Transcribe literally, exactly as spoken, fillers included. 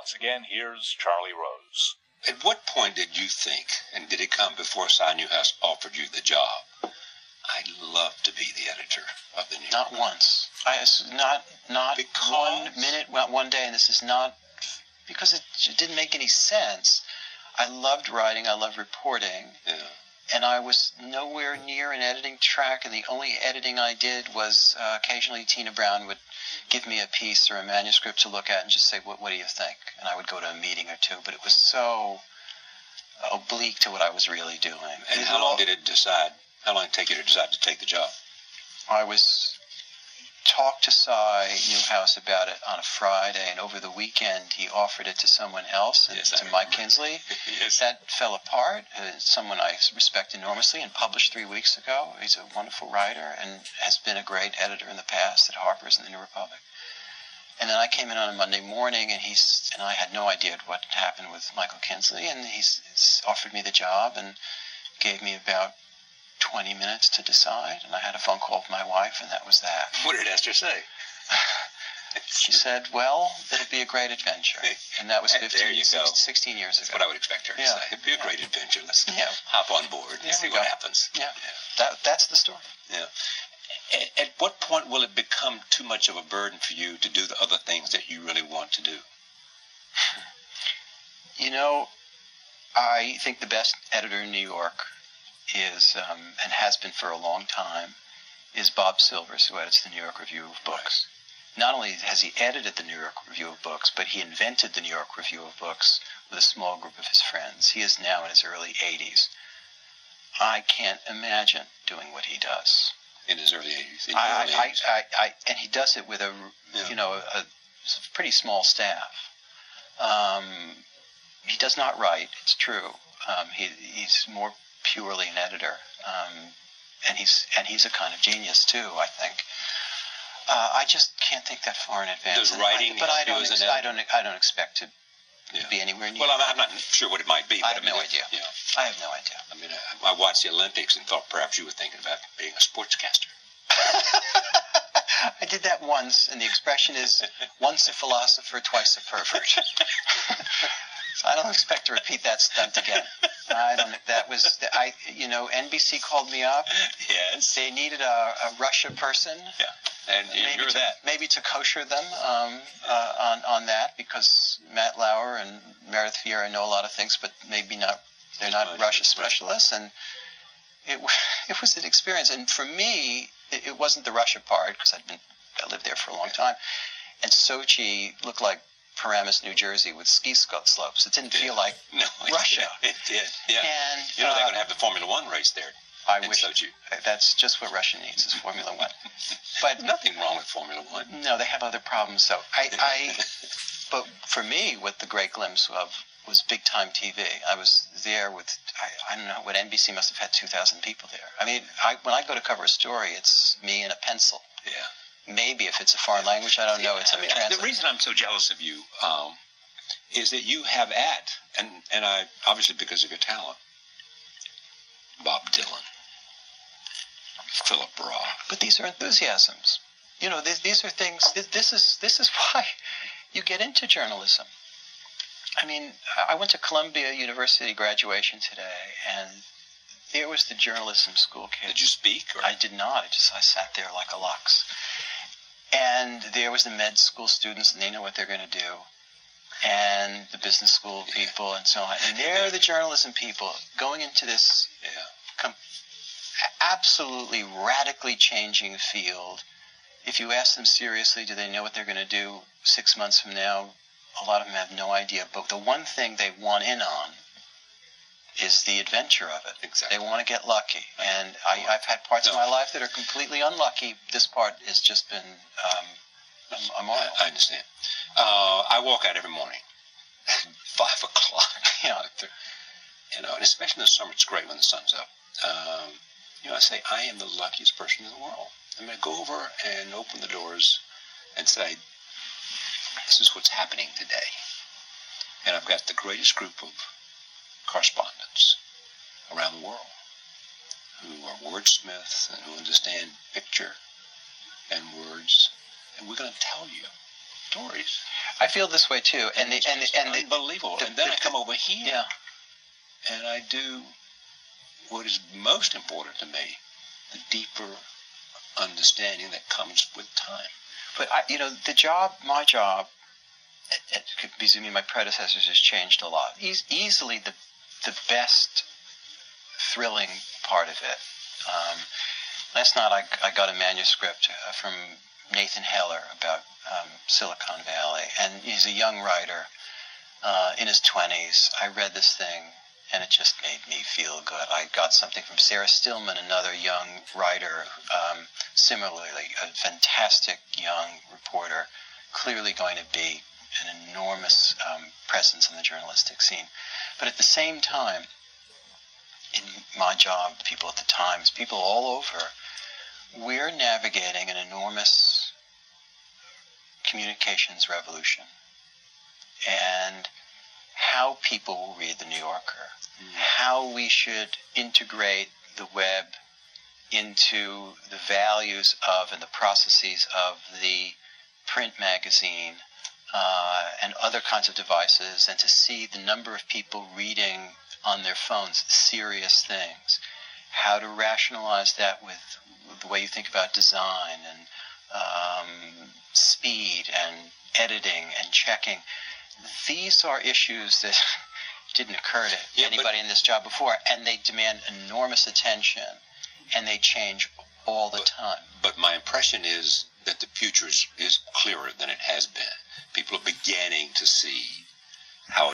Once again, here's Charlie Rose. At what point did you think, and did it come before Cy Newhouse offered you the job, I'd love to be the editor of the New York? Not once. I, not not Because? one minute, well, one day, and this is not, because it, it didn't make any sense. I loved writing, I loved reporting, Yeah. and I was nowhere near an editing track, and the only editing I did was uh, occasionally Tina Brown would give me a piece or a manuscript to look at and just say, what, what do you think? And I would go to a meeting or two, but it was so oblique to what I was really doing. And how long did it decide, how long did it take you to decide to take the job? I was talked to Cy Newhouse about it on a Friday, and over the weekend he offered it to someone else, and Yes, I to Mike remember. Kinsley. Yes. That fell apart. Uh, someone I respect enormously and published three weeks ago. He's a wonderful writer and has been a great editor in the past at Harper's and the New Republic. And then I came in on a Monday morning, and he's and I had no idea what happened with Michael Kinsley, and he's, he's offered me the job and gave me about twenty minutes to decide, and I had a phone call with my wife, and that was that. What did Esther say? She said, well, it'll be a great adventure. And that was There fifteen, you go. sixteen years That's ago. what I would expect her to Yeah. say. It'd be a great adventure. Let's Yeah. hop on board and There see we what go. happens. Yeah, that, that's the story. Yeah. At, at what point will it become too much of a burden for you to do the other things that you really want to do? You know, I think the best editor in New York is, um, and has been for a long time, is Bob Silvers, who edits the New York Review of Books. Not only has he edited the New York Review of Books, but he invented the New York Review of Books with a small group of his friends. He is now in his early eighties. I can't imagine doing what he does. In his early eighties. In I, your early I, eighties. I, I, and he does it with a, Yeah. you know, a, a pretty small staff. Um, he does not write. It's true. Um, he, he's more purely an editor, um, and he's and he's a kind of genius too, I think. Uh, I just can't think that far in advance. Does And writing I, but help I you don't. as an Ex- I don't. I don't expect to Yeah. be anywhere near. Well, I'm, I'm not sure what it might be. But I have mean, no it- idea. Yeah. I have no idea. I mean, I, I watched the Olympics and thought perhaps you were thinking about being a sportscaster. I did that once, and the expression is once a philosopher, twice a pervert. So I don't expect to repeat that stunt again. I don't. That was I. You know, N B C called me up. Yes. They needed a, a Russia person. Yeah. And Maybe you're to, that. maybe to kosher them um, uh, on on that, because Matt Lauer and Meredith Vieira know a lot of things, but maybe not. They're not Right, Russia right. specialists, and it it was an experience. And for me, it, it wasn't the Russia part, because I'd been I lived there for a long time, and Sochi looked like Paramus, New Jersey, with ski sco- slopes. It didn't It did. feel like No, it Russia. Did. It did. Yeah. And You know, they're uh, going to have the Formula One race there. I in wish Sochi. that's just what Russia needs is Formula One. But Nothing wrong with Formula One. no, they have other problems. So I, I, but for me, what the great glimpse of was big time T V. I was there with I, I don't know what N B C must have had two thousand people there. I mean, I, when I go to cover a story, it's me and a pencil. Yeah. Maybe if it's a foreign language, I don't know. It's I a mean, translate. the reason I'm so jealous of you um, is that you have at, and, and I obviously because of your talent, Bob Dylan, Philip Roth. But these are enthusiasms. You know, these, these are things. This, this is this is why you get into journalism. I mean, I went to Columbia University graduation today, and there was the journalism school kid. Did you speak? Or? I did not. I just I sat there like a lux. And there was the med school students, and they know what they're going to do. And the business school people, and so on. And they're the journalism people going into this Yeah. com- absolutely radically changing field. If you ask them seriously, do they know what they're going to do six months from now? A lot of them have no idea. But the one thing they want in on is the adventure of it. Exactly. They want to get lucky. And I, I've had parts of my life that are completely unlucky. This part has just been um, a, a I, marvel. I understand. Uh, I walk out every morning, five o'clock. You know, You know, and especially in the summer, it's great when the sun's up. Um, you know, I say I am the luckiest person in the world. I'm going to go over and open the doors and say, this is what's happening today. And I've got the greatest group of correspondents around the world who are wordsmiths and who understand picture and words. And we're going to tell you stories. I feel this way too, and the It's and the, just and the, unbelievable. the- and then the- I come over here, yeah. and I do what is most important to me: the deeper understanding that comes with time. But I, you know, the job, my job, it, it, vis-a-vis my predecessors, has changed a lot. E- easily the the best, thrilling part of it. Um, last night I, I got a manuscript uh, from Nathan Heller about um, Silicon Valley, and he's a young writer uh, in his twenties. I read this thing, and it just made me feel good. I got something from Sarah Stillman, another young writer, um, similarly a fantastic young reporter, clearly going to be an enormous um, presence in the journalistic scene. But at the same time, in my job, people at the Times, people all over, we're navigating an enormous communications revolution. And how people will read the New Yorker, mm. how we should integrate the web into the values of and the processes of the print magazine uh, and other kinds of devices, and to see the number of people reading on their phones serious things, how to rationalize that with, with the way you think about design and um, speed and editing and checking. These are issues that didn't occur to yeah, anybody but, in this job before, and they demand enormous attention, and they change all the but, time. But my impression is that the future is, is clearer than it has been. People are beginning to see how